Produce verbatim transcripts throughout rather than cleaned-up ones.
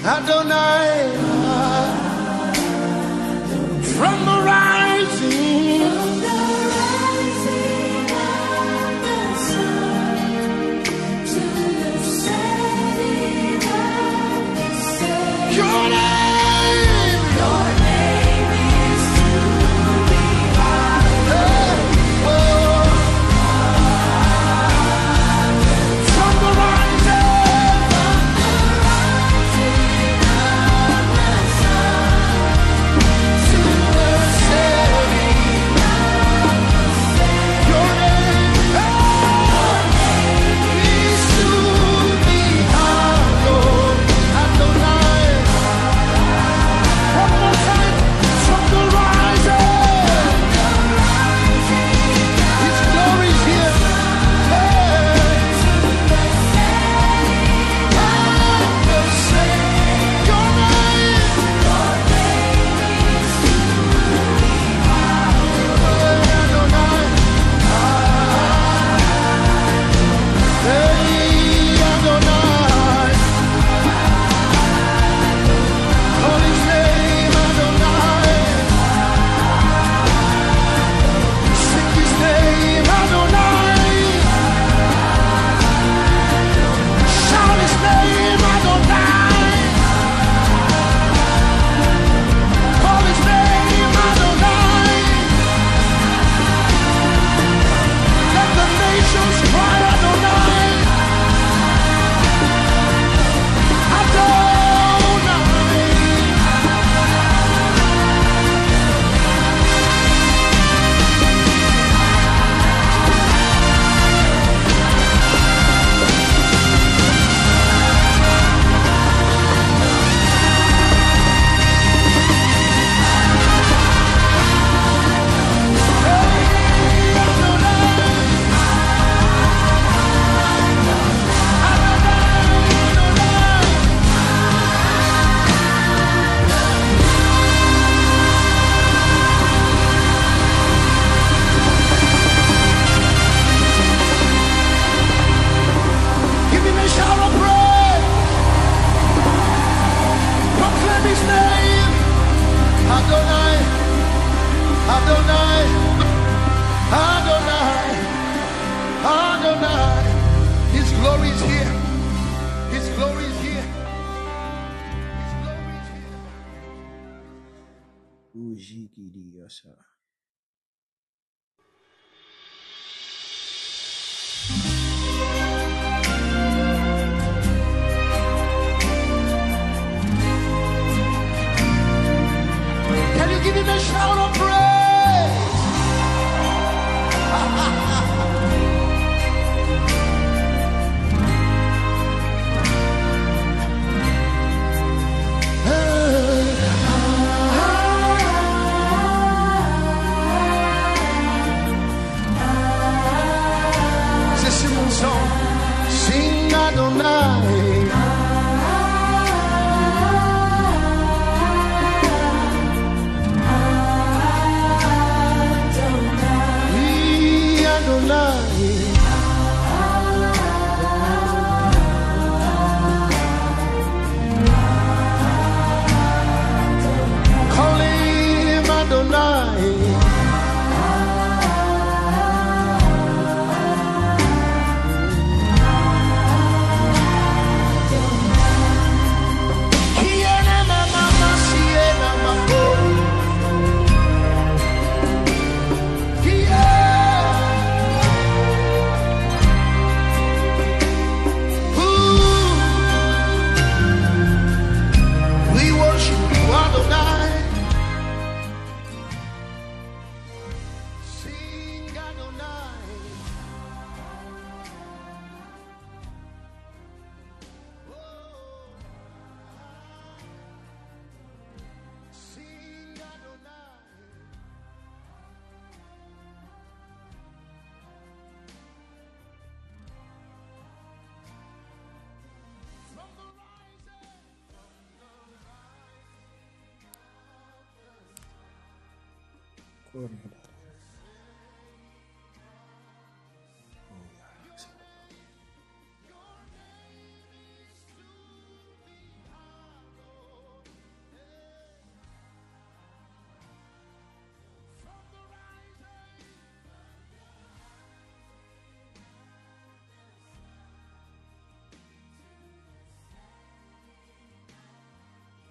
Adonai, from the rising, from the rising of the sun to the setting of the sun. Your name, your name is to be hallowed. Oh, from the rising, from the rising of the sun to the setting of the sun. Your name, oh, is to be hallowed. Adonai. One more time, from the rising, His glory is here. Hey, of the sun. Your name, Adonai. Hey, Adonai. Call His name, Adonai. Sing His name, Adonai. Shout His name, Adonai. Call His name, Adonai. Let the nations cry, Adonai. Adonai. Give Him a shout of praise. Proclaim His name. Adonai, Adonai, Adonai, Adonai. His glory is here. His glory is here. His glory is here. Ujigiriyasa. Can you give Him a shout of praise? C'est mon son. Sing Adonai. We Adonai. Call Him Adonai. Kiena mama masiena mako. Yeah. Ooh. We worship you, Adonai. Sing Adonai. Oh. Sing Adonai. From the rising, Kornada.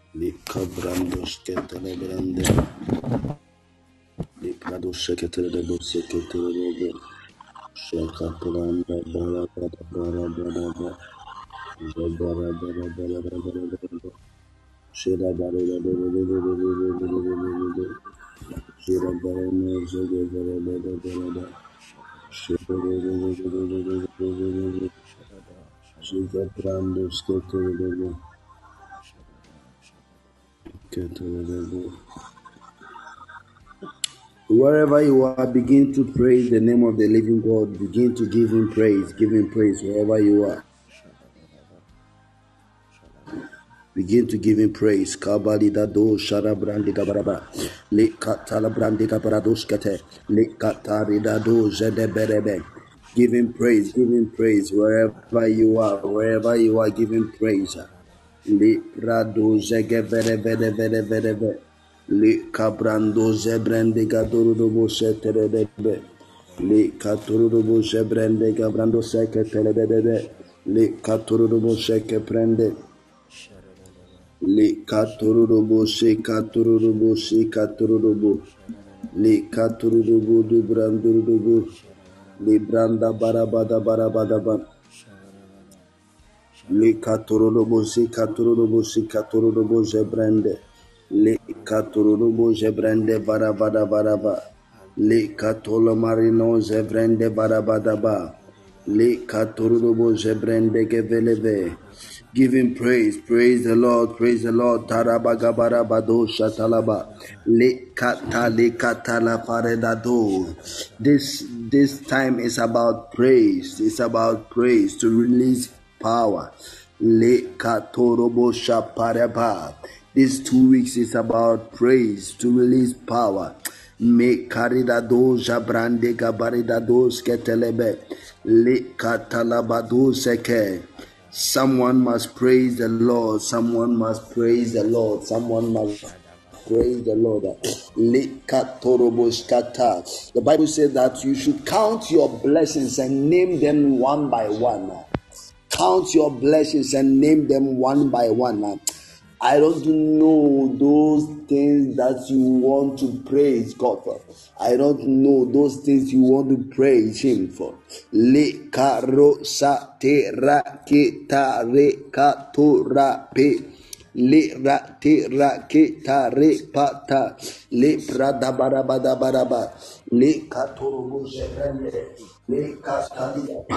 Lika brandos ketele brande. Liprado seketele de bo seketele de bo. Shaka pranda bara bara bara bara bara. Zabara bara bara bara bara bara. Shira bara bara bara bara bara bara bara bara. Shira bara no zege bara bara bara bara. Shira bara bara bara bara bara bara. Shika brandos ketele de bo. Ketele de bo. Wherever you are, begin to praise the name of the living God. Begin to give him praise. Give him praise wherever you are. Begin to give him praise. Kabali dado shara brandi gabaraba. Le katala brandi gabarados kate. Le katari dado zede berebe. Give him praise. Give him praise wherever you are. Wherever you are, give him praise. Le rado zege bere bere bere bere bere. Le cabrando zebrende gadoro dobo seterebe. Le catoro dobo zebrende gabrando seke telebede. Le catoro dobo seke prende. Le catoro dobo se catoro dobo se catoro dobo. Le catoro dobo do brando dobo. Le branda barabada barabada ba. Le catoro dobo se catoro dobo se catoro dobo zebrende. Le katurubu zebrende barabada baraba. Le katolo marino zebrende barabadaba. Le katurubu zebrende geveleve. Give him praise, praise the Lord, praise the Lord. Tarabaga barabado shatalaba. Le kata le katala paredado. This this time is about praise. It's about praise to release power. Le katorobo shapareba. These two weeks is about praise to release power. Me karidado jabrande gabaridado sketelebe le katalabado seke. Someone must praise the Lord. Someone must praise the Lord. Someone must praise the Lord. Le katoroboskata. The Bible says that you should count your blessings and name them one by one. Count your blessings and name them one by one. I don't know those things that you want to praise God for. I don't know those things you want to praise Him for. Le karo sa te ra ke ta re ka to ra pe. Le ra te ra ke ta re pa ta. Le pra da ba da ba da ba da ba. Le ka to ro bo se prende. Le ka ta di ya.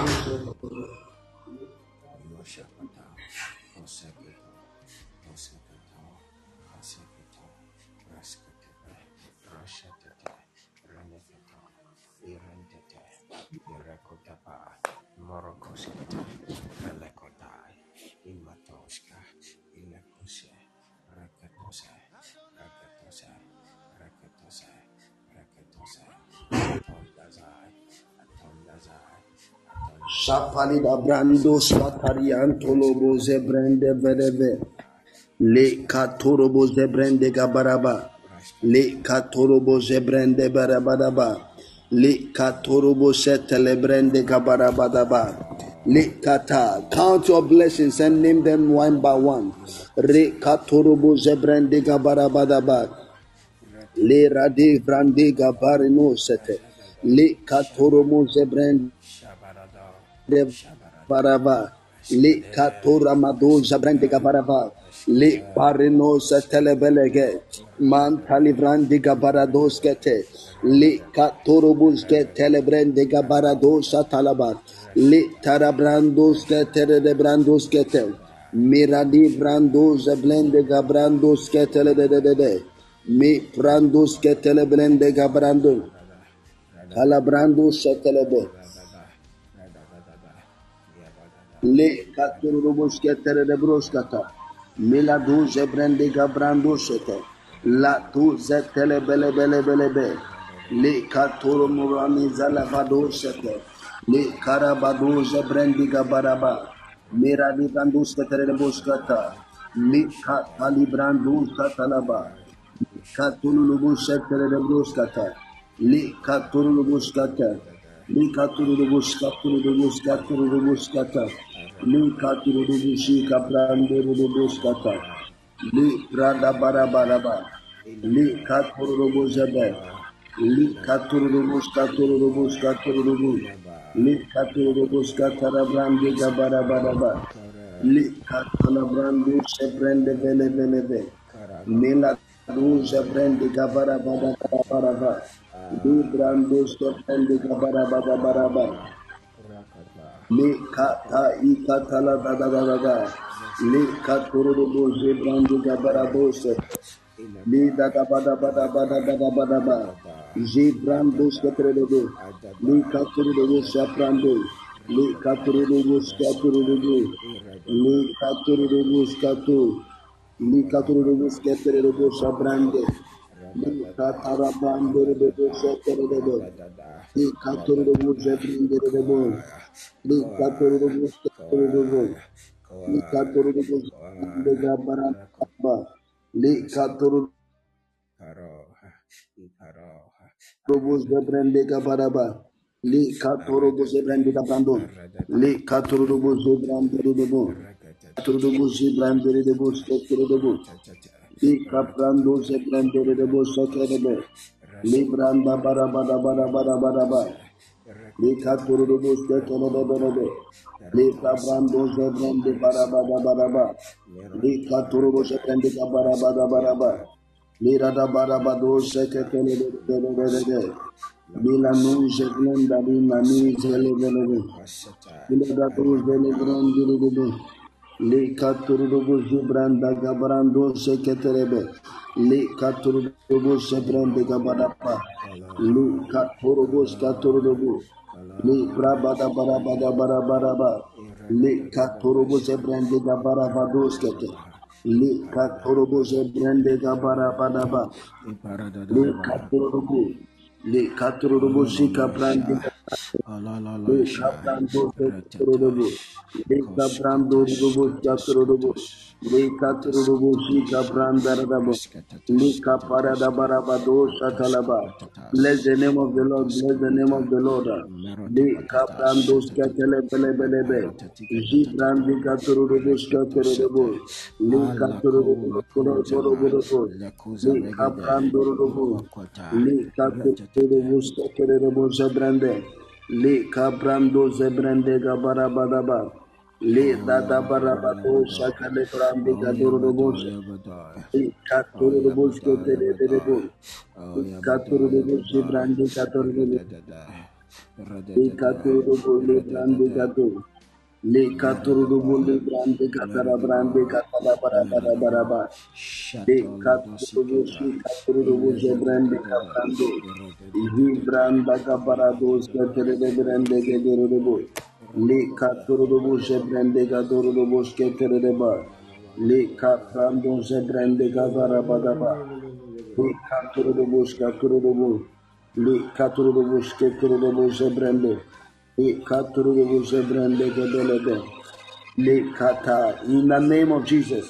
Shapali da brando satari antolobo zebrende vedeve. Le katorobo zebrende gabaraba. Le katorobo zebrende barabadaba. Le katorobo setelebrende gabarabadaba. Le kata. Count your blessings and name them one by one. Re katorobo zebrende gabarabadaba. Le rade brande gabarino sete. Le katorobo zebrende baraba. Le katora mado zabrande gabaraba. Le parinosa telebelege mantali brandi gabarados kete le katorobus ke telebrande gabaradosa talaba le tarabrandos ke de brandos kete miradi brandos blende gabrandos ke tele de de de mi brandos ke telebrande gabrando calabrandos telebe le katorobus ke tele de broskata Mila du zebrende gabrando sete. La tu zetele bele bele bele be. Le katoro murani zalavado sete. Le karabado zebrendi gabaraba. Mira di brandus ketere buskata. Mi katali brandus katalaba. Katulu busetere de buskata. Le katulu buskata. Le katulu buskatulu buskatulu buskata. Li katuru bushi kaprande buskata. Li branda bara bara ba. Li katuru zebe. Li katuru katuru katuru. Li katuru katara brandi gabara bara ba. Li katala brandi shebrende bele bele be. Mila du shebrende gabara bara bara ba. Li brando shebrende gabara bara bara ba. Li kata ikatala da da da da da. Li katuru boje brandi gabara bose. Li da da ba da ba da ba da ba da ba da ba. Je brando shebrende. Li katuru boje brando. Li katuru boje katuru boje. Li katuru boje katuru. Li katuru boje katuru boje brande. Li katara brande boje katuru. Li katuru boje brande boje. Li katuru boje katuru. Li katuru boje brande gabara ba. Li katuru boje brande gabara ba. Li katuru boje brande gabrando. Li katuru boje brande bo. Katuru boje brande de boje katuru bo. Li kaprando boje brande de boje katuru bo. Li branda bara bara bara bara bara ba. Li katuru boje katuru bo. Li kaprando boje brande bara bara bara ba. Li katuru boje brande bara bara bara ba. Li rada bara bara doje katuru bo. Bila nuje blenda bila nuje lebelebe. Bila da doje lebrandi lebe. Le katurubu zubranda gabrando seketerebe. Le katurubu sebrande gabarapa. Le katurubu skaturubu. Le brabada barabada barabaraba. Le katurubu sebrande gabarabado skete. Le katurubu sebrande gabarabadaba. Le katurubu. Le katurubu sikabrande. Le kabrando seketerebe. Le kabrando rubu skaturubu. Le katurubu sikabranda rabo. Le kaparada barabado shakalaba. Bless the name of the Lord. Bless the name of the Lord. Le kabrando skatelebelebelebe. Jibrandi katurubu skaturubu. Le katurubu katurubu. Le kabrando rubu. Le katurubu skaturubu zabrande. Le kabrando zebrande gabarabadaba. Le dada barabado shakale brande gadurubu. Le katurubu skatelebelebe. Le katurubu zibrande katurubu. Le katurubu le brande gadu. Le katurubu le brande katara brande katara barabara baraba. Le katurubu shi katurubu zebrande kabrande. Ihi branda kabarado sketere brande gadurubu. Le katurubu zebrande gadurubu sketere ba. Le kaprando zebrande gabarabadaba. Le katurubu skaturubu. Le katurubu sketere zebrande. Le katurubu zebrande gadelebe. Le kata. In the name of Jesus.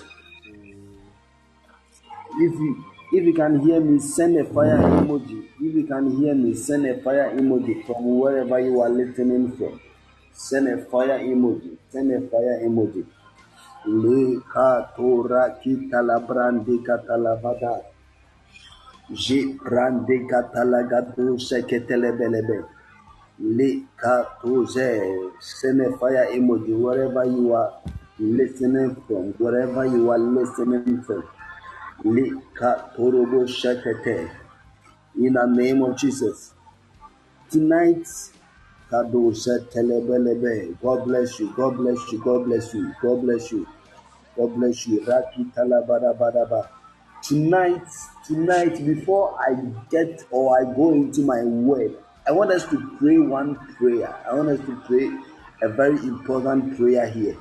If you if you can hear me, send a fire emoji. If you can hear me, send a fire emoji from wherever you are listening from. Send a fire emoji. Send a fire emoji. Le katora kitala brandi katala vada. Je brandi katala gadu seketele belebe. Le katoze. Send a fire emoji wherever you are listening from. Wherever you are listening from. Lika Torobo Shakete. In the name of Jesus. Tonight, Kado Telebelebe. God bless you. God bless you. God bless you. God bless you. God bless you. Raki Talabadabadaba. Tonight, tonight, before I get or I go into my word, I want us to pray one prayer. I want us to pray a very important prayer here.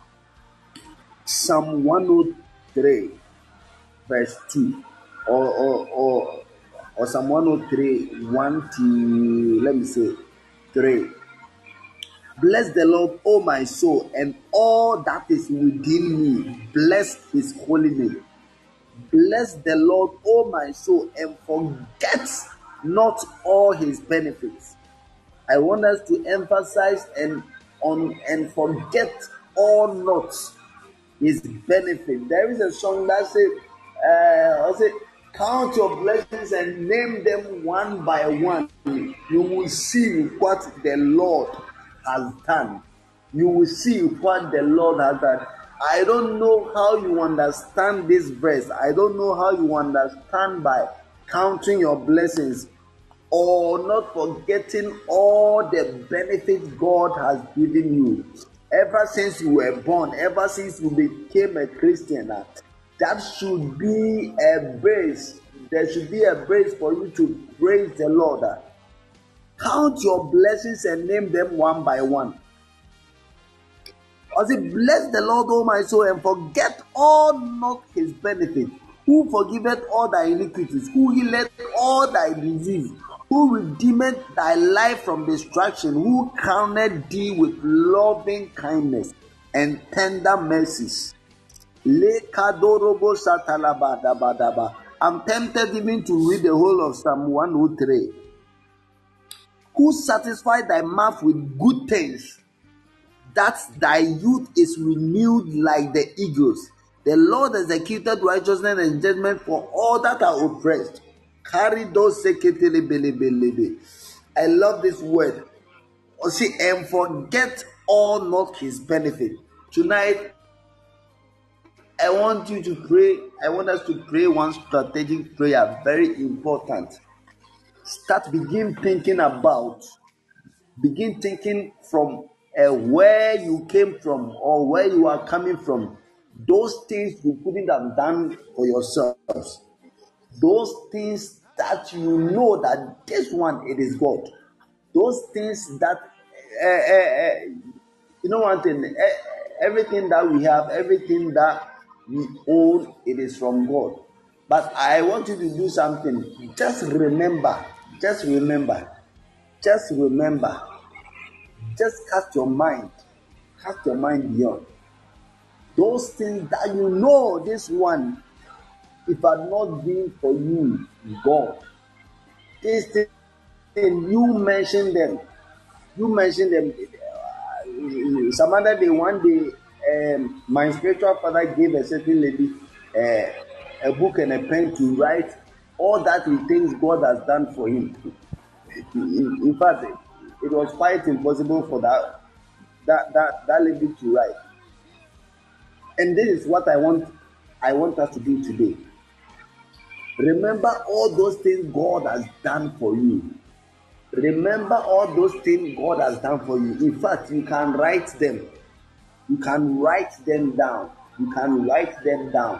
Psalm one oh three. Verse two, or or or or Psalm one oh three, one to let me say three. Bless the Lord, O my soul, and all that is within me. Bless His holy name. Bless the Lord, O my soul, and forget not all His benefits. I want us to emphasize and on and forget all not. his benefit. There is a song that says, uh, I say, count your blessings and name them one by one. You will see what the Lord has done. You will see what the Lord has done. I don't know how you understand this verse. I don't know how you understand by counting your blessings or not forgetting all the benefits God has given you. Ever since you were born, ever since you became a Christian, uh, that should be a base. There should be a base for you to praise the Lord. uh. Count your blessings and name them one by one. I say, bless the Lord, O my soul, and forget all not his benefits, who forgiveth all thy iniquities, who healeth all thy disease, who redeemeth thy life from destruction, who crowned thee with loving kindness and tender mercies. I'm tempted even to read the whole of Psalm one oh three. Who satisfied thy mouth with good things, that thy youth is renewed like the eagles. The Lord executed righteousness and judgment for all that are oppressed. Carry those seketele. I love this word. Oh, see, and forget all not his benefit. Tonight, I want you to pray. I want us to pray one strategic prayer, very important. Start, begin thinking about, begin thinking from uh, where you came from or where you are coming from. Those things you couldn't have done for yourselves. Those things that you know that this one, it is God. Those things that, uh, uh, uh, you know one thing, uh, everything that we have, everything that we own, it is from God. But I want you to do something. Just remember, just remember, just remember, just cast your mind, cast your mind beyond. Those things that you know, this one, if it had not been for you, God, these things, you mention them, you mention them. Some other day, one day, um, my spiritual father gave a certain lady uh, a book and a pen to write all that he thinks God has done for him. In, in fact, it was quite impossible for that, that, that, that lady to write. And this is what I want, I want us to do today. Remember all those things God has done for you. Remember all those things God has done for you. In fact, you can write them. You can write them down. You can write them down.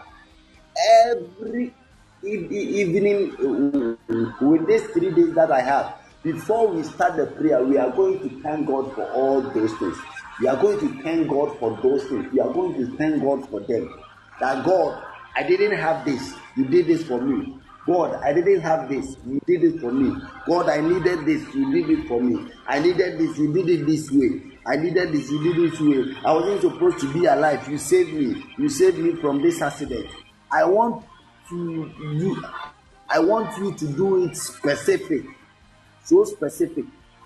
Every evening, with these three days that I have, before we start the prayer, we are going to thank God for all those things. We are going to thank God for those things. We are going to thank God for them. That God, I didn't have this. You did this for me. God, I didn't have this. You did it for me. God, I needed this. You did it for me. I needed this. You did it this way. I needed this. You did it this way. I wasn't supposed to be alive. You saved me. You saved me from this accident. I want to you. I want you to do it specific. So specific.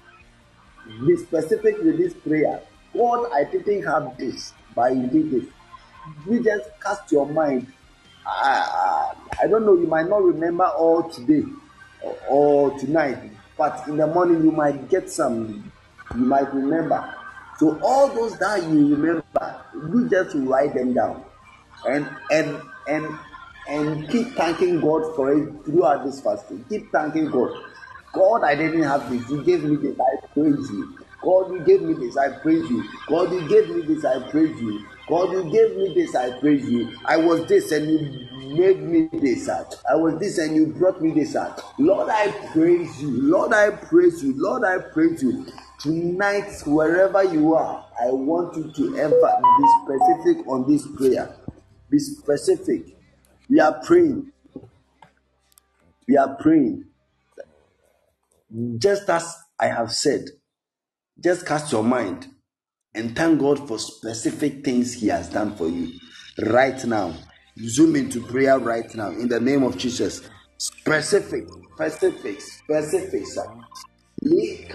Be specific with this prayer. God, I didn't have this, but you did it. You just cast your mind. I, I, I don't know, you might not remember all today or, or tonight, but in the morning you might get some, you might remember. So all those that you remember, you just write them down and and and and keep thanking God for it throughout this fasting. Keep thanking God. God, I didn't have this. You gave me this. I praise you. God, you gave me this. I praise you. God, you gave me this. I praise you. God, you gave me this, I praise you. I was this and you made me this out. I was this and you brought me this out. Lord, I praise you. Lord, I praise you. Lord, I praise you. Tonight, wherever you are, I want you to ever be specific on this prayer. Be specific. We are praying. We are praying. Just as I have said, just cast your mind and thank God for specific things He has done for you right now. Zoom into prayer right now in the name of Jesus. Specific, specific, specific. Father, in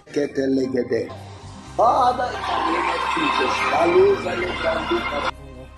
the name of Jesus.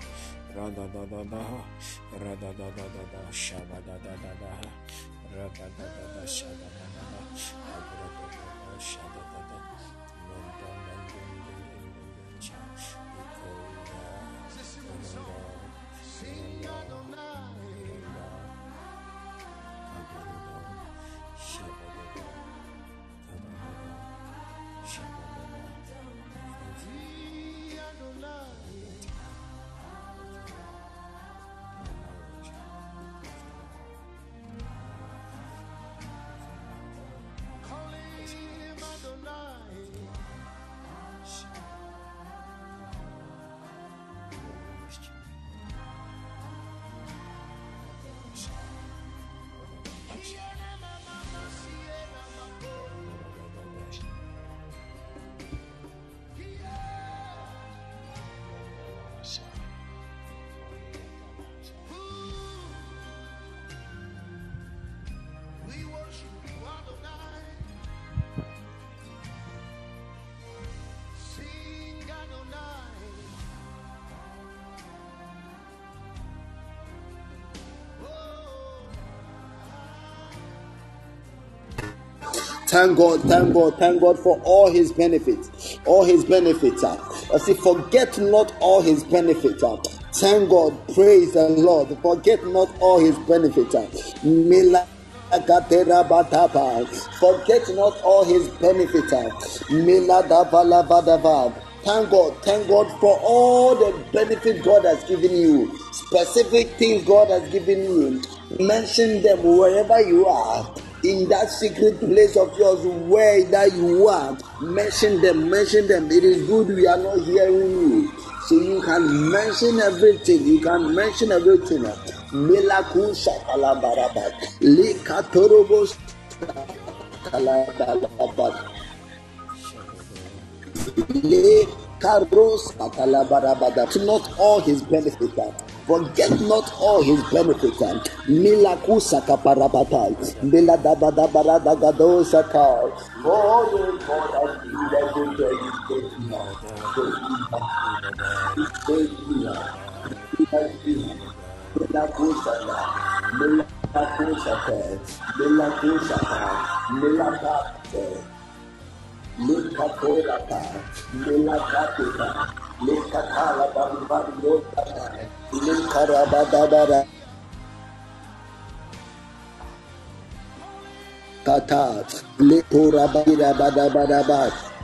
Thank God, thank God, thank God for all his benefits. All his benefits. Uh, I say, forget not all his benefits. Uh, thank God, praise the Lord. Forget not all his benefits. Uh, Mila- Forget not all his benefits. Thank God, thank God for all the benefits God has given you. Specific things God has given you. Mention them wherever you are. In that secret place of yours, where that you are, mention them, mention them. It is good we are not hearing you. So you can mention everything. You can mention everything. Melakusha kalabaraba, likatorobos kalabaraba, likaros kalabaraba. Not all his benefits. Forget not all his benefits. Milakusa kaparabata, miladabadabarada ka. Oh, God has been there. Milakusata, milakusata, milakusata, milakate, mikatorata, milakatita, mikatala bambariota, mikarabadabara. Kata, leporabira badabadaba.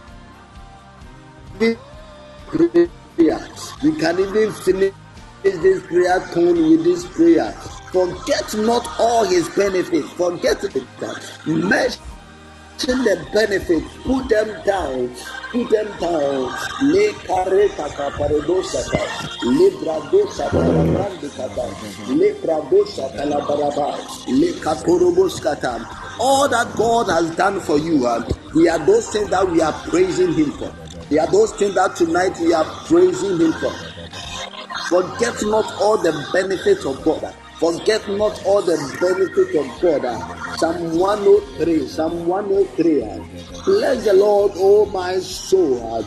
We can even finish this prayer tone with this prayer. Forget not all his benefits. Forget it. Mention the benefits. Put them down. Put them down. Le careta caparedosata. Le bradosata la brandicata. Le bradosata la baraba. Le caporoboscata. All that God has done for you, uh, we are those things that we are praising him for. They are those things that tonight we are praising him for. Forget not all the benefits of God. Forget not all the benefits of God. Psalm one oh three. Psalm one oh three. Bless the Lord, oh my soul.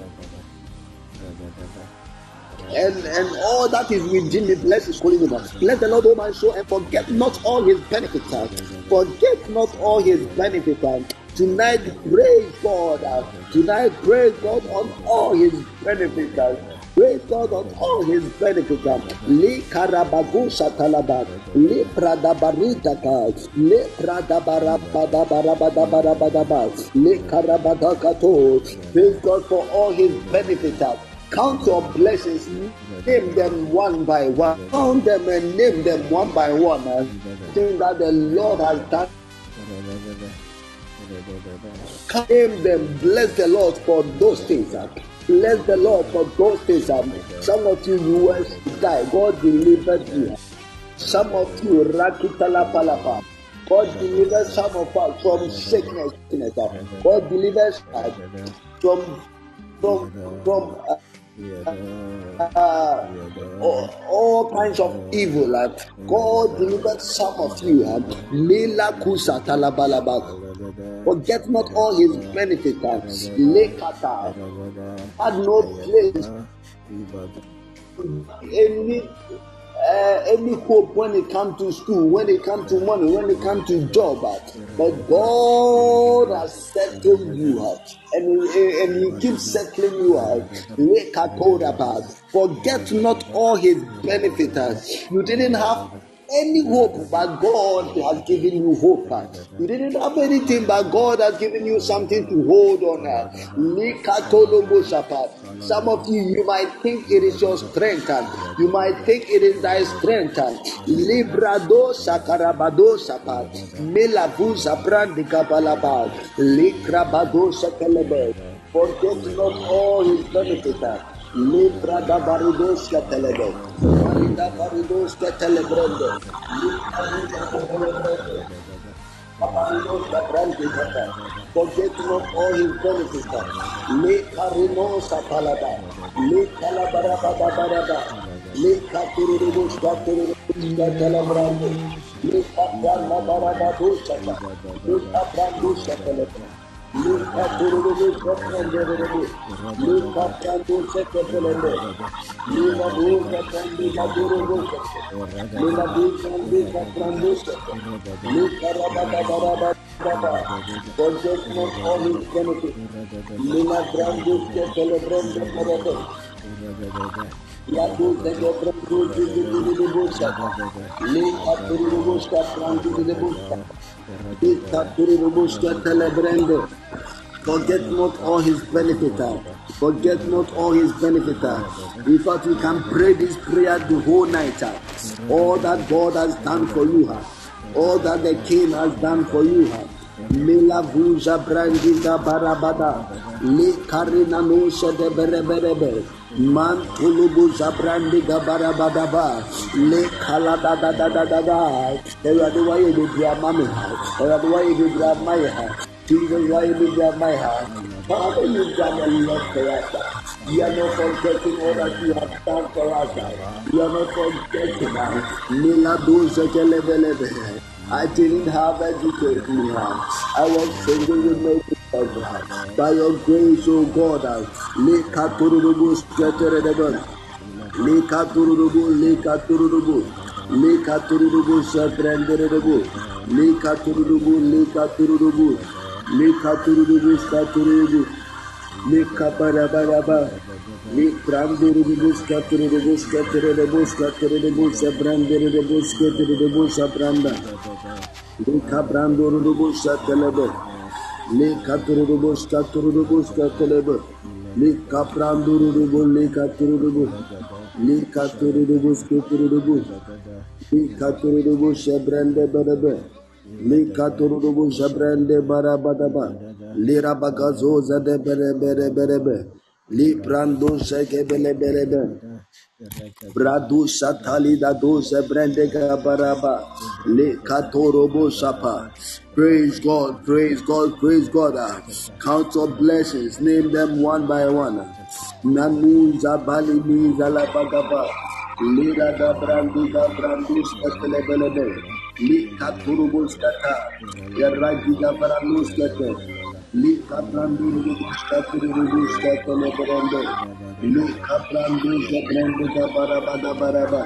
And, and all that is within me, bless his holy name. Bless the Lord, oh my soul, and forget not all his benefits. Forget not all his benefits. Tonight, praise God. Tonight, praise God on all his benefits. Praise God on all his benefits. Le karabagusha talaba, le pradabaritaka, le pradabarabadabarabadabarabadaba, le karabadakato. Praise God for all his benefits. Count your blessings, name them one by one. Count them and name them one by one. Things that the Lord has done. Name them, bless the Lord for those things. Bless the Lord for those things. Some of you, you were die. God delivered you. Some of you, Rakitala Palapa. God delivers some of us from sickness. God delivers us from from from. Uh, Uh, all, all kinds of evil. Like God delivered some of you. Mila kusa talabalaba. Forget not all his benefits. Lekata had no place. any uh, any hope when it comes to school, when it comes to money, when it comes to job. Uh, but God has settled you out, and, and He keeps settling you out. Forget not all His benefits. You didn't have any hope, but God has given you hope. You didn't have anything, but God has given you something to hold on. Some of you, you might think it is your strength. You might think it is thy strength. Librado sakarabado sapat. Melavu zabrandi kabalaba. Likrabado sakalebe. Forget not all His benefits. Libra da baridos que telebe, Marida baridos que telebrende, forget not all His benefits. Le carinosa palada, le calabaraba baraba, le caturibus caturibus telebrande, le capranda baraba dusata, le caprandusha telebrande. Luka turubu seprende rebu, Luka prandu seprende, Lina duka prandu madurubu seprende, Lina duka prandu seprende, Luka rabada baraba baraba, forget not all His benefits, Lina prandu seprende baraba, Yadu seprende rebu sata, Luka turubu seprende rebu sata. Forget not all His benefits. Forget not all His benefits. We thought we can pray this prayer the whole night. All that God has done for you, all that the King has done for you. Mila vuja brandiga barabada, le karina no shede bereberebe, man tulubu zabrandiga barabadaba, le kala da da da da da da. Ewa the way you grab mommy, ewa the way you grab my heart, Jesus why you grab my heart. Father, you done a lot for us. You are not forgetting all that you have done for us. You are not forgetting us. Mila doza kelebelebe. I didn't have education. I was single with no God. By your grace, O God, Leka Turubu, Leka Turubu, Leka Turubu, Leka Turubu, Satranderebo, Leka Turubu, Leka Turubu, Leka Turubu, Saturibu, Leka Barabaraba, Leka Turubu, Scaturibu, Scaturibu, Scaturibu, Sabranderebo, Scaturibu, Sabranda. Leka Brandurubu, Satelebe, Leka Turubu, Scaturubu, Scatelebe, Leka Brandurubu, Leka Turubu, Leka Turubu, Scaturubu, Leka Turubu, Sabrande Barabe, Leka Turubu, Sabrande Barabadaba, Lira Bagazoza de Bere Bere Berebe, Li Brando Sekebele Berebe. Bradu Satali da doze brandega baraba le katorobo sapa. Praise God, praise God, praise God. Count your blessings, name them one by one. Nanu zabali mi zalabagaba. Lira da brandiga brandus katelebelebe. Li katorobo skata. Yaragiga brandus kate. Li kabrandu katorobo skatelebelebe. Luka brandu zabrandiga barabada baraba.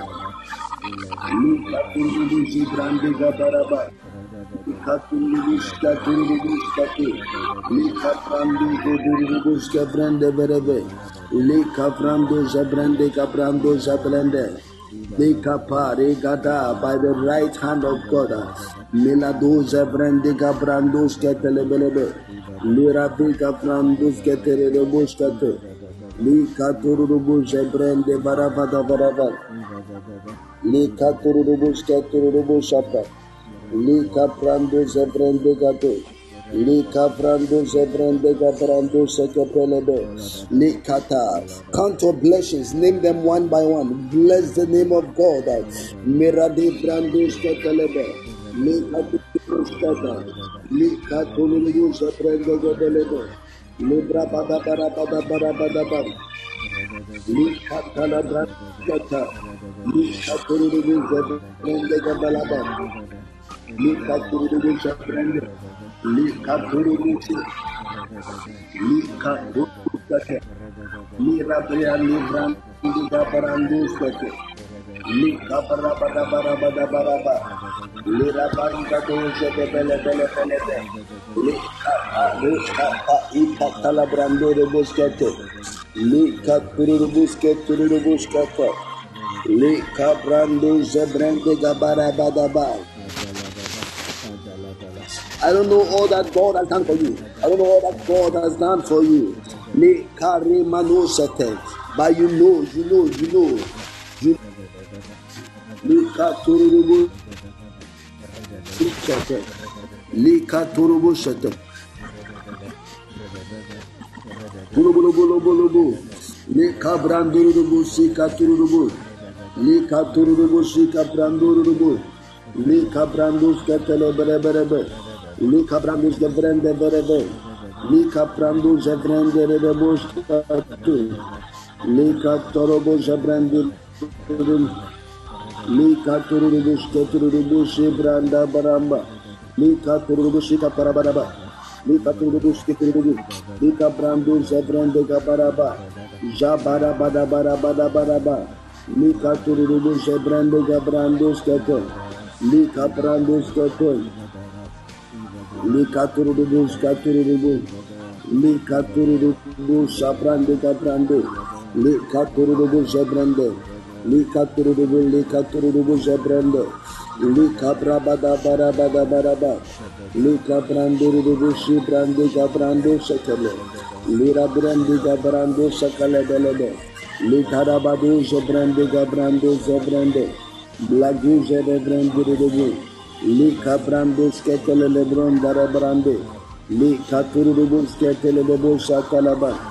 Luka turubu zabrandiga baraba. Luka turubu skaturubu skatu. Luka brandu turubu skabrande berebe. Luka brandu zabrandiga brandu zabrande. Luka pare gada by the right hand of God. Miladu zabrandiga brandu skatelebelebe. Lira biga brandu skaterebu skatu. Lika turubu zebrende barabada baraba. Lika turubu skaturubu shapa. Lika prando zebrende gato. Lika prando zebrende gabrando sekepelebe. Likata. Count your blessings. Name them one by one. Bless the name of God. Miradi brando skatelebe. Lika turubu skata. Lika turubu zebrende gabrando. Libra bada bada bada bada bada bada. Lika tala branda. Lika turubu zebrende gabalaba. Lika turubu zebrende. Lika turubu. Lika turubu. Lira bria libra Branduskete, Lika Barabada Barabada Baraba, Lira Barika Doja de Bele Bele Bele Bele, Lika Ruska Ika Talabrando de Busquete, Lika Turubusket Turubuskete, Lika Brando Zebrande Gabara Badaba. I don't know all that God has done for you. I don't know all that God has done for you. Lika Remanosete. But you know, you know, you know, you Lika Turubu Shete, Lika Turubu Shete, Turubu, Lika Brandurubu, Sika Turubu, Lika Turubu, Sika Brandurubu, Lika Brandus Catele Berebe, Lika Brandus de Brende Berebe, Lika Brandus de Brende Rebus. Lika Torobo Jabrandi, Lika Turubus, Keturubus, Branda Baramba, Lika Turubushika Parabaraba, Lika Turubus, Keturubu, Lika Brandu, Zabrande Gabaraba, Jabara Bada Bara Bada Baraba, Lika Turubus, Zabrande Gabrandus Keto, Lika Brandus Keto, Lika Turubus, Katurubu, Lika Turubu, Sabrande Gabrande. Lika Turubu Zebrande, Lika Turubu, Lika Turubu Zebrande, Lika Brabada Barabada Baraba, Lika Brandurubu Shibrande Gabrando Sakale, Lira Brandi Gabrando Sakale Belebe, Lika Rabadu Zebrande Gabrando Zebrande, Blagu Zebrande, Lika Brando Sketele Lebron Darabrande, Lika Turubu Sketele Lebo Sakalaba.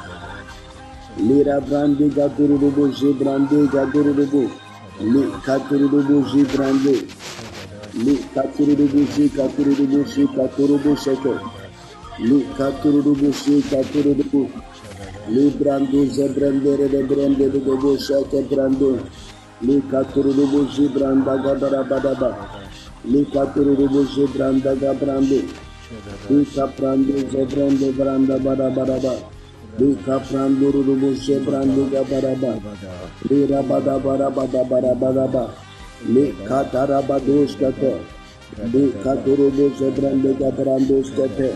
Lira Brandi Gaturubu Zibrandi Gaturubu, Li Katurubu Zibrandi, Li Katurubu Zikaturubu Zikaturubu Seke, Li Katurubu Zikaturubu, Li Brandu Zebrandere de Brande de Gobo Seke Brando, Li Katurubu Zibranda Gabarabadaba, Li Katurubu Zibranda Gabrandi, Li Kaprandi Zebrande Branda Barabaraba. Lika Pranduru Shebrandi Gabaraba, Lira Bada Barabada Barabada, Lika Tarabados Kate, Lika Turubu Shebrandi Gabrandos Kate,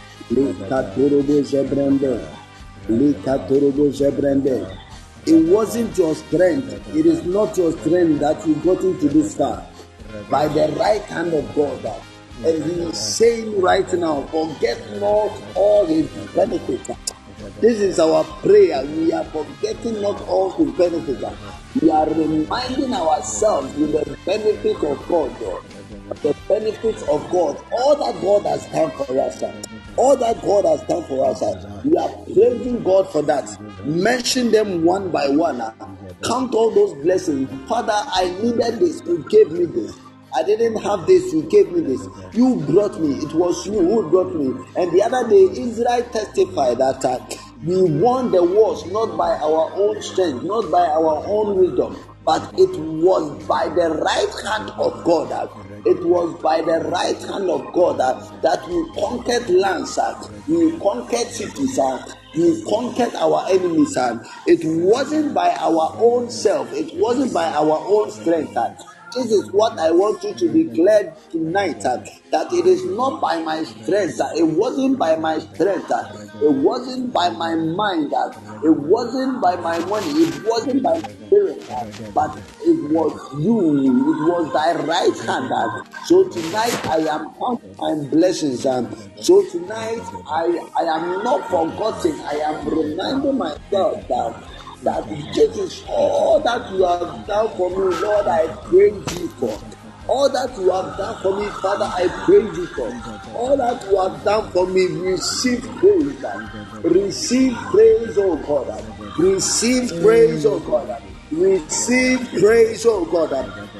Lika Turubu Shebrande, Lika Turubu Shebrande. It wasn't your strength, it is not your strength that you got into this far. By the right hand of God. And he is saying right now, forget not all his benefits. This is our prayer. We are forgetting not all his benefits. We are reminding ourselves with the benefit of God, the benefits of God, all that God has done for us, all that God has done for us. We are praising God for that. Mention them one by one. Count all those blessings. Father, I needed this. You gave me this. I didn't have this, you gave me this. You brought me, it was you who brought me. And the other day, Israel testified that uh, we won the wars not by our own strength, not by our own wisdom, but it was by the right hand of God. Uh, it was by the right hand of God uh, that we conquered lands, uh, we conquered cities, uh, we conquered our enemies. Uh, it wasn't by our own self, it wasn't by our own strength. Uh, This is what I want you to declare tonight, uh, that it is not by my strength, uh, it wasn't by my strength, uh, it wasn't by my mind, uh, it wasn't by my money, it wasn't by my spirit, uh, but it was you, it was thy right hand. Uh, so tonight I am counting my blessings, uh, so tonight I, I am not forgetting, I am reminding myself that that this is all that you have done for me, Lord. I praise you for all that you have done for me, Father. I praise you for all that you have done for me. Receive praise, receive praise, oh God. Receive praise, oh God. Receive praise, oh God.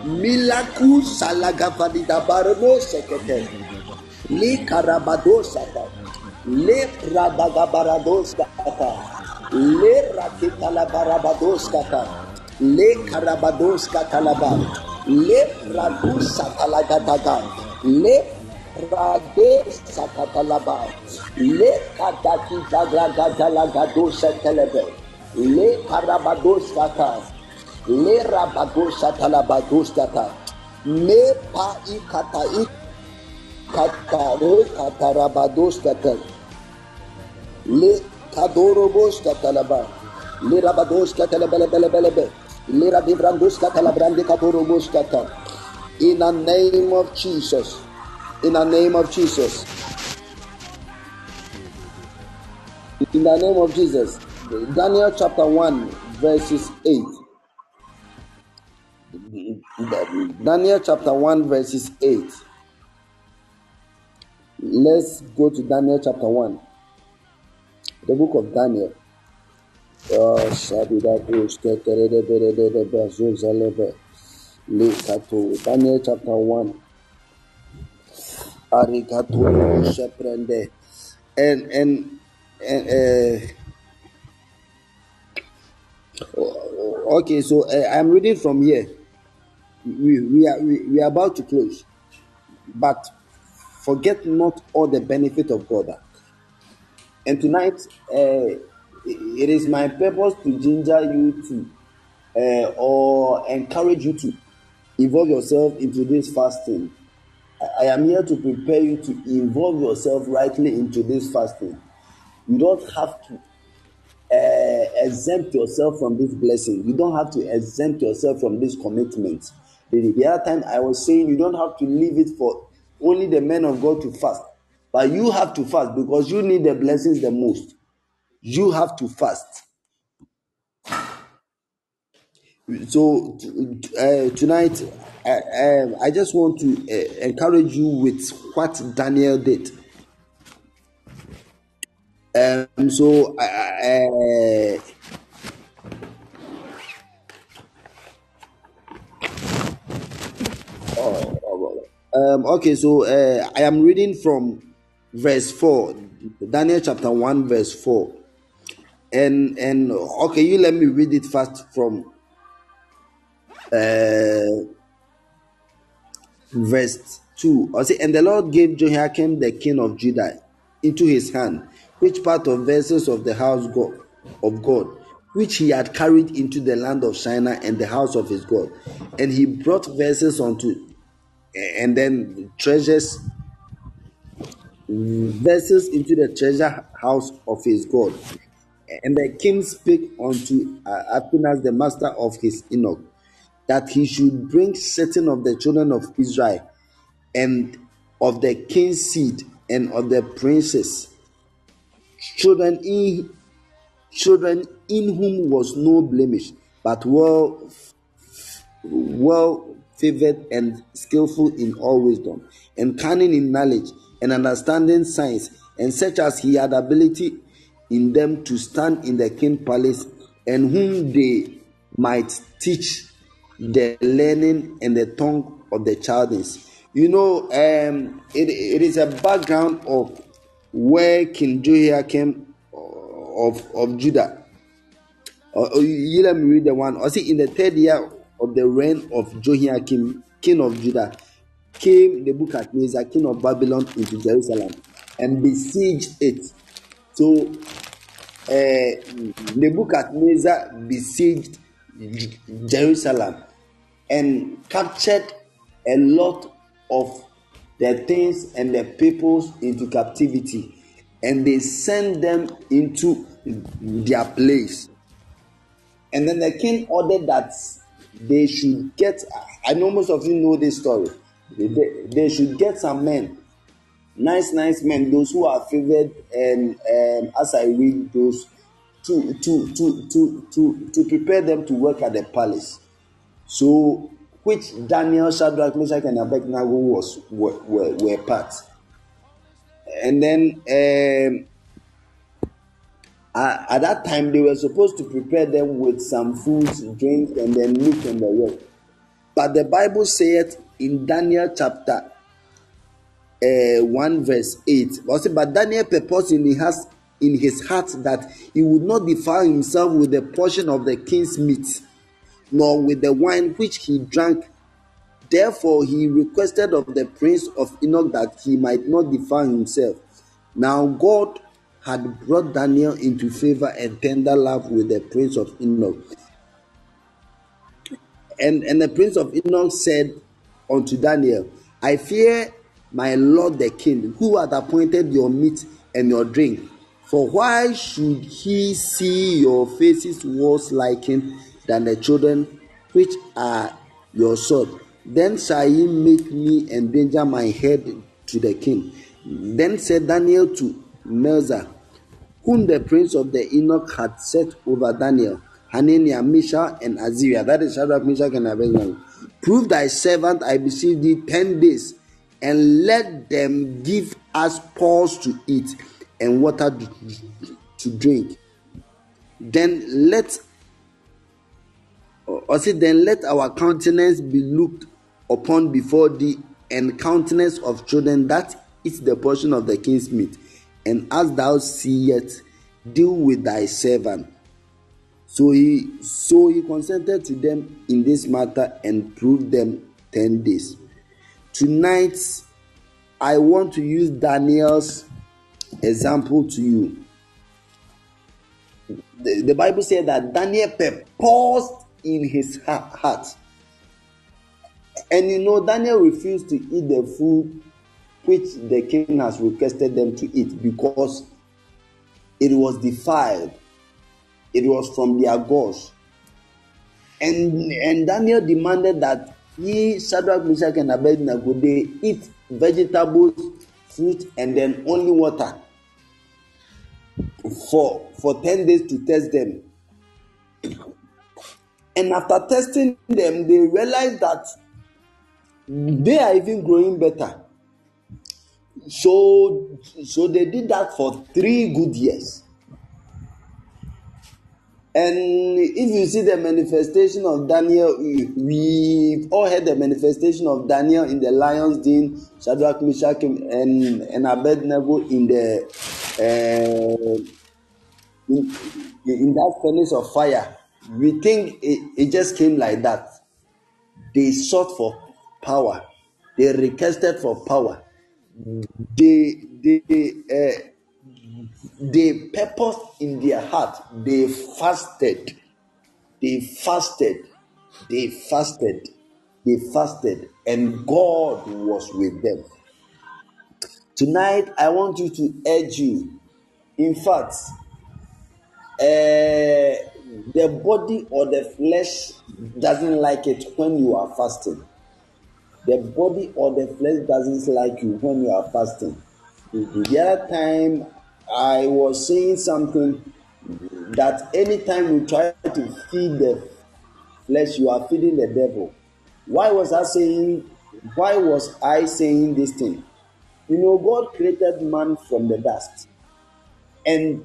Milaku salagafadida barno sekete li karabadosa le radagabaradosa Le rakitala barabadoskata, le karabadoska talaba, le radusa talagadaga, le rade sakatalaba, le kadaki dagragadaga telebe, Le karabados kata. Le rabados katalabados kata. Me pa ikata ikata re katarabados kata. Le kadorobos katalaba. Le rabados katalabelebelebelebe. Le radibrandos katalabrande kadorobos kata. In the name of Jesus. In the name of Jesus. In the name of Jesus. Daniel chapter one, verses eight. Daniel chapter one, verses eight. Let's go to Daniel chapter one. The book of Daniel. Daniel chapter one. And and and uh, okay, so uh, I'm reading from here. We we are we, we are about to close, but forget not all the benefit of God. And tonight, uh, it is my purpose to ginger you to, uh, or encourage you to involve yourself into this fasting. I am here to prepare you to involve yourself rightly into this fasting. You don't have to uh, exempt yourself from this blessing. You don't have to exempt yourself from this commitment. The, the other time I was saying you don't have to leave it for only the men of God to fast. But you have to fast because you need the blessings the most. You have to fast. So uh, tonight, uh, um, I just want to uh, encourage you with what Daniel did. Um, so, uh, uh, oh, oh, um, okay, so uh, I am reading from verse four, Daniel chapter one, verse four, and and okay, you let me read it first from uh, verse two. I say, and the Lord gave Jehoiakim the king of Judah into his hand, which part of vessels of the house God, of God, which he had carried into the land of Shinar and the house of his God, and he brought vessels unto, and then treasures, vessels into the treasure house of his God. And the king spake unto uh, Athanas, the master of his eunuch, that he should bring certain of the children of Israel, and of the king's seed, and of the princes, children in children in whom was no blemish, but well well favored and skillful in all wisdom, and cunning in knowledge, and understanding science, and such as he had ability in them to stand in the king's palace, and whom they might teach the learning and the tongue of the Chaldeans. You know, um, it, it is a background of where King Jehoiakim of, of Judah. Uh, you let me read the one. I see, in the third year of the reign of Jehoiakim, king of Judah, came Nebuchadnezzar, king of Babylon, into Jerusalem and besieged it. So uh, Nebuchadnezzar besieged Jerusalem and captured a lot of the things and the peoples into captivity, and they sent them into their place. And then the king ordered that they should get, I know most of you know this story, they, they should get some men, nice nice men, those who are favored, and um, as I read those, to to to to to to prepare them to work at the palace. So, which Daniel, Shadrach, Meshach, and Abednego was were, were, were part. And then um, uh, at that time they were supposed to prepare them with some foods, drinks, and then meat and the rest. But the Bible said in Daniel chapter uh, one verse eight, but Daniel purposed in his in his heart that he would not defile himself with a portion of the king's meat, nor with the wine which he drank. Therefore he requested of the prince of Enoch that he might not defile himself. Now God had brought Daniel into favor and tender love with the prince of Enoch. And, and the prince of Enoch said unto Daniel, I fear my lord the king, who hath appointed your meat and your drink. For why should he see your faces worse liking than the children which are your sword? Then shall he make me endanger my head to the king. Then said Daniel to Melzar, whom the prince of the Enoch had set over Daniel, Hananiah, Mishael, and Azariah, that is Shadrach, Meshach, and Abednego, prove thy servant, I beseech thee, ten days, and let them give us pulse to eat and water to drink. Then let, or say, then let our countenance be looked upon before thee, and countenance of children that eat the portion of the king's meat. And as thou seest, deal with thy servant. So he so he consented to them in this matter and proved them ten days. Tonight, I want to use Daniel's example to you. The, the Bible said that Daniel purposed in his heart. And you know, Daniel refused to eat the food which the king has requested them to eat because it was defiled. It was from their gods. And, and Daniel demanded that he, Shadrach, Meshach, and Abednego, they eat vegetables, fruit, and then only water for, for ten days to test them. And after testing them, they realized that they are even growing better. So, so they did that for three good years. And if you see the manifestation of Daniel, we've all heard the manifestation of Daniel in the lion's den, Shadrach, Meshach, and, and Abednego in the uh, in, in that furnace of fire. We think it, it just came like that. They sought for power. They requested for power. They they uh, they purposed in their heart. They fasted. They fasted. They fasted. They fasted, and God was with them. Tonight, I want you to urge you. In fact, uh, the body or the flesh doesn't like it when you are fasting. The body or the flesh doesn't like you when you are fasting. The other time I was saying something that anytime you try to feed the flesh, you are feeding the devil. Why was I saying? Why was I saying this thing? You know, God created man from the dust, and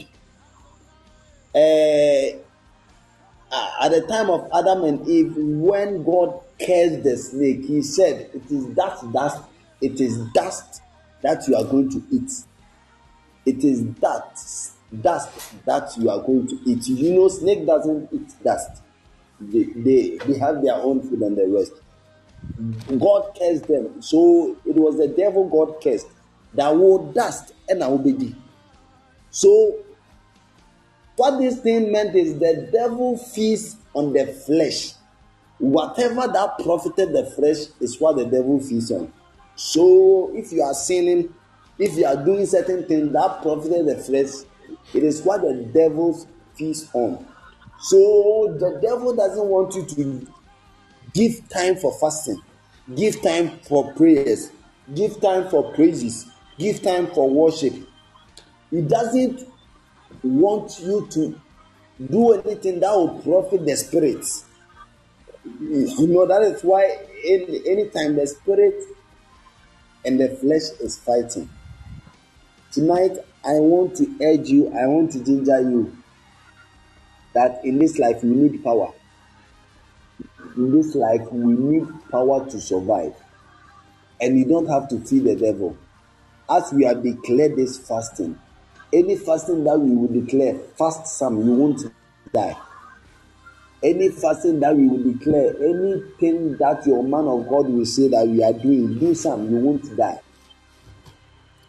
uh, at the time of Adam and Eve, when God cursed the snake, He said, "It is that dust. It is dust that you are going to eat. It is that dust that you are going to eat." You know, snake doesn't eat dust. They, they, they have their own food and the rest. God cursed them. So it was the devil God cursed. That will dust and I will be. So what this thing meant is the devil feeds on the flesh. Whatever that profited the flesh is what the devil feeds on. So if you are sinning, if you are doing certain things that profited the flesh, it is what the devil feeds on. So the devil doesn't want you to give time for fasting, give time for prayers, give time for praises, give time for worship. He doesn't want you to do anything that will profit the spirits. You know, that is why any anytime the spirit and the flesh is fighting. Tonight, I want to urge you, I want to ginger you that in this life we need power. In this life we need power to survive. And you don't have to feed the devil. As we have declared this fasting, any fasting that we will declare, fast some, you won't die. Any fasting that we will declare, anything that your man of God will say that we are doing, do some, you won't die.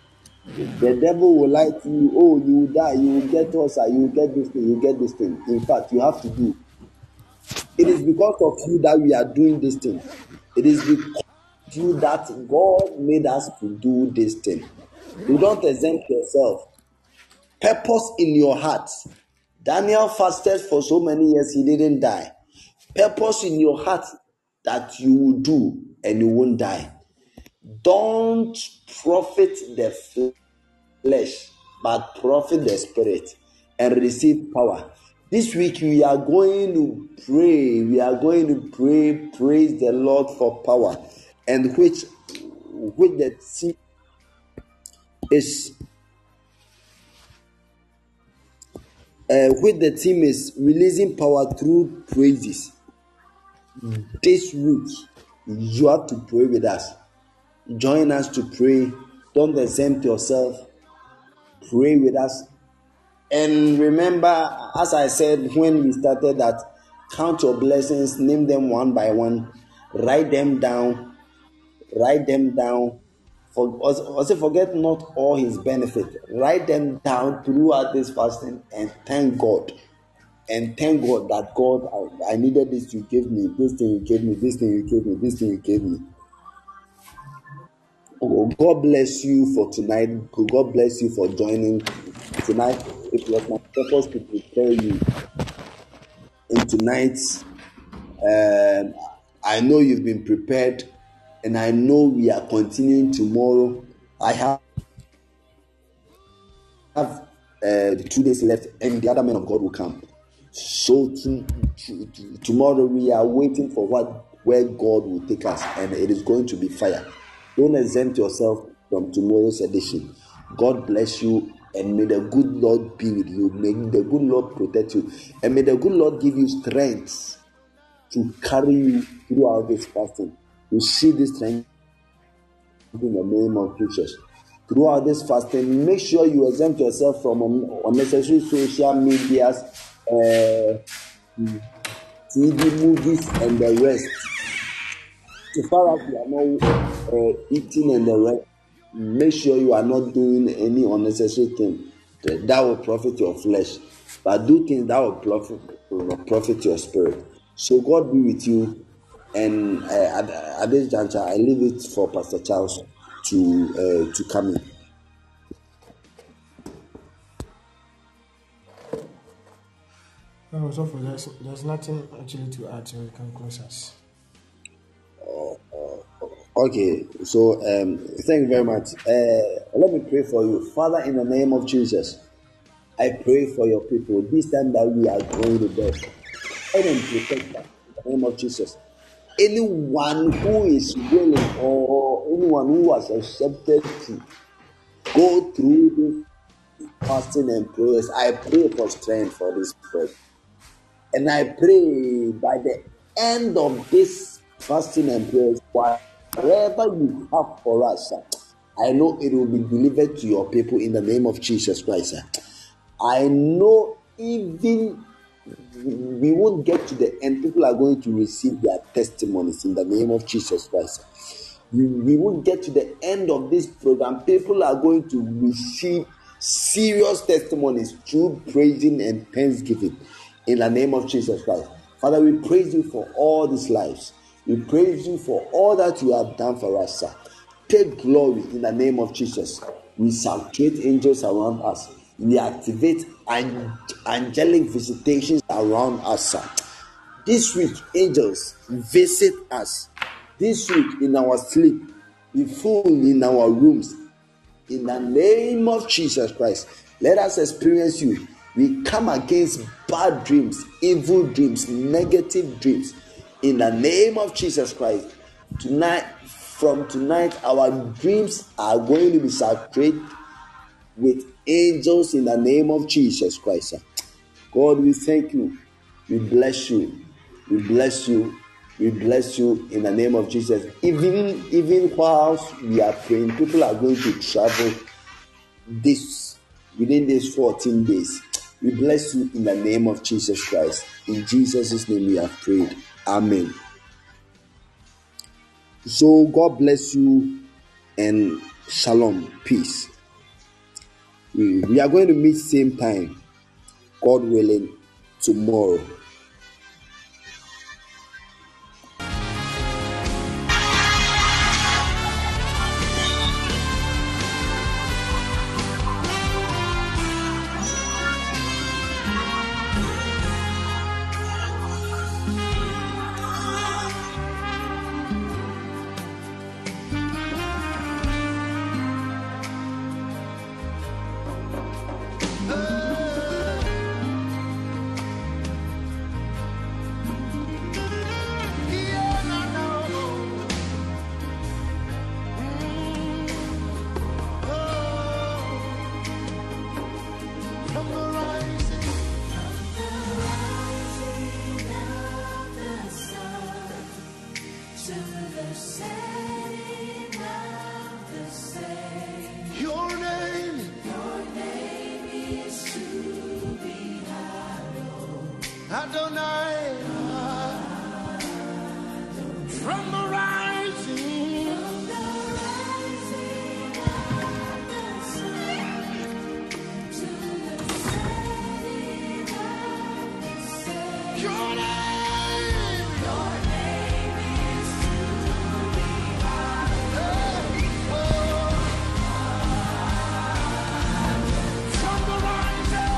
The devil will lie to you. Oh, you will die. You will get ulcer. You will get this thing. You will get this thing. In fact, you have to do. It is because of you that we are doing this thing. It is because of you that God made us to do this thing. You don't exempt yourself. Purpose in your heart. Daniel fasted for so many years, he didn't die. Purpose in your heart that you will do and you won't die. Don't profit the flesh, but profit the spirit and receive power. This week we are going to pray. We are going to pray, praise the Lord for power, and which, which the theme is, uh, which the theme is releasing power through praises. This week you have to pray with us. Join us to pray. Don't exempt yourself. Pray with us. And remember, as I said when we started, that count your blessings, name them one by one, write them down, write them down. For, also forget not all his benefits. Write them down throughout this fasting and thank God. And thank God that God, I, I needed this, you gave me, this thing you gave me, this thing you gave me, this thing you gave me. Oh, God bless you for tonight. God bless you for joining tonight. It was my purpose to prepare you. And tonight, um, I know you've been prepared, and I know we are continuing tomorrow. I have, have uh, two days left, and the other men of God will come. So to, to, to, tomorrow we are waiting for what where God will take us, and it is going to be fire. Don't exempt yourself from tomorrow's edition. God bless you, and may the good Lord be with you. May the good Lord protect you, and may the good Lord give you strength to carry you throughout this fasting. You see this strength in the name of Jesus. Throughout this fasting, make sure you exempt yourself from unnecessary social medias, uh, T V, movies, and the rest. So far as you are not uh, eating and the rest, make sure you are not doing any unnecessary thing that will profit your flesh, but do things that will profit, will profit your spirit. So God be with you. And uh, at, at this juncture, I leave it for Pastor Charles to uh, to come in. No, so for there's, there's nothing actually to add, so we can close us. Okay, so um, thank you very much. Uh, let me pray for you. Father, in the name of Jesus, I pray for your people. This time that we are going to bed, let them protect them in the name of Jesus. Anyone who is willing or anyone who has accepted to go through this fasting and prayers, I pray for strength for this prayer. And I pray by the end of this fasting and prayers, whatever you have for us, I know it will be delivered to your people in the name of Jesus Christ. I know even we won't get to the end. People are going to receive their testimonies in the name of Jesus Christ. We, we won't get to the end of this program. People are going to receive serious testimonies through praising and thanksgiving in the name of Jesus Christ. Father, we praise you for all these lives. We praise you for all that you have done for us, sir. Take glory in the name of Jesus. We sanctuate angels around us. We activate an- angelic visitations around us, sir. This week, angels visit us. This week, in our sleep, be full in our rooms. In the name of Jesus Christ, let us experience you. We come against bad dreams, evil dreams, negative dreams. In the name of Jesus Christ, tonight, from tonight, our dreams are going to be saturated with angels in the name of Jesus Christ. God, we thank you. We bless you. We bless you. We bless you in the name of Jesus. Even, even whilst we are praying, people are going to travel this within these fourteen days. We bless you in the name of Jesus Christ. In Jesus' name we have prayed. Amen. So God bless you and shalom. Peace. We, we are going to meet same time, God willing, tomorrow. Adonai, from the rising, your name, your name is to be hallowed. From the rising.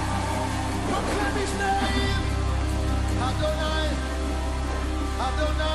Adonai, Adonai.